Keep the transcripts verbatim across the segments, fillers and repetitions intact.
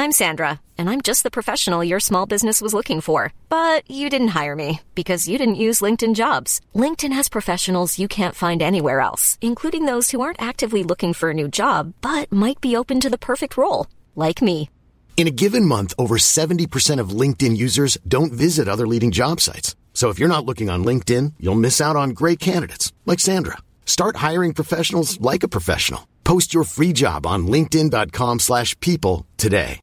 I'm Sandra, and I'm just the professional your small business was looking for. But you didn't hire me because you didn't use LinkedIn Jobs. LinkedIn has professionals you can't find anywhere else, including those who aren't actively looking for a new job, but might be open to the perfect role, like me. In a given month, over seventy percent of LinkedIn users don't visit other leading job sites. So if you're not looking on LinkedIn, you'll miss out on great candidates, like Sandra. Start hiring professionals like a professional. Post your free job on linkedin.com slash people today.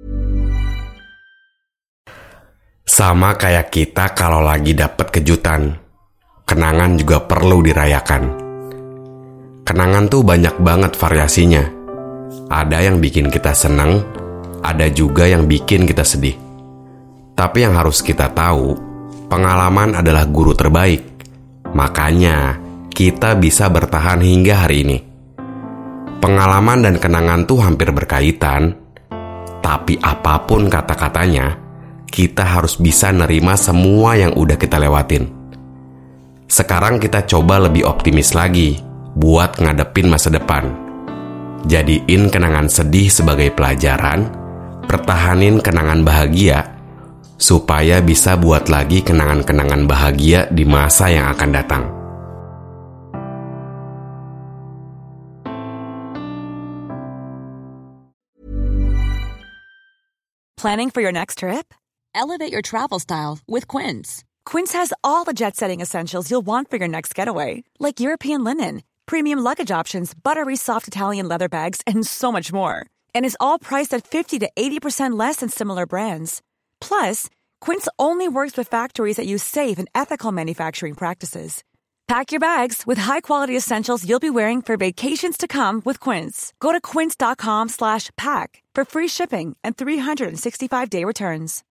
Sama kayak kita kalau lagi dapet kejutan, kenangan juga perlu dirayakan. Kenangan tuh banyak banget variasinya. Ada yang bikin kita seneng, ada juga yang bikin kita sedih. Tapi yang harus kita tahu, pengalaman adalah guru terbaik. Makanya, kita bisa bertahan hingga hari ini. Pengalaman dan kenangan tuh hampir berkaitan. Tapi apapun kata-katanya, kita harus bisa nerima semua yang udah kita lewatin. Sekarang kita coba lebih optimis lagi buat ngadepin masa depan. Jadiin kenangan sedih sebagai pelajaran, pertahanin kenangan bahagia, supaya bisa buat lagi kenangan-kenangan bahagia di masa yang akan datang. Planning for your next trip? Elevate your travel style with Quince. Quince has all the jet-setting essentials you'll want for your next getaway, like European linen, premium luggage options, buttery soft Italian leather bags, and so much more. And is all priced at fifty to eighty percent less than similar brands. Plus, Quince only works with factories that use safe and ethical manufacturing practices. Pack your bags with high-quality essentials you'll be wearing for vacations to come with Quince. Go to quince.com slash pack for free shipping and three sixty-five day returns.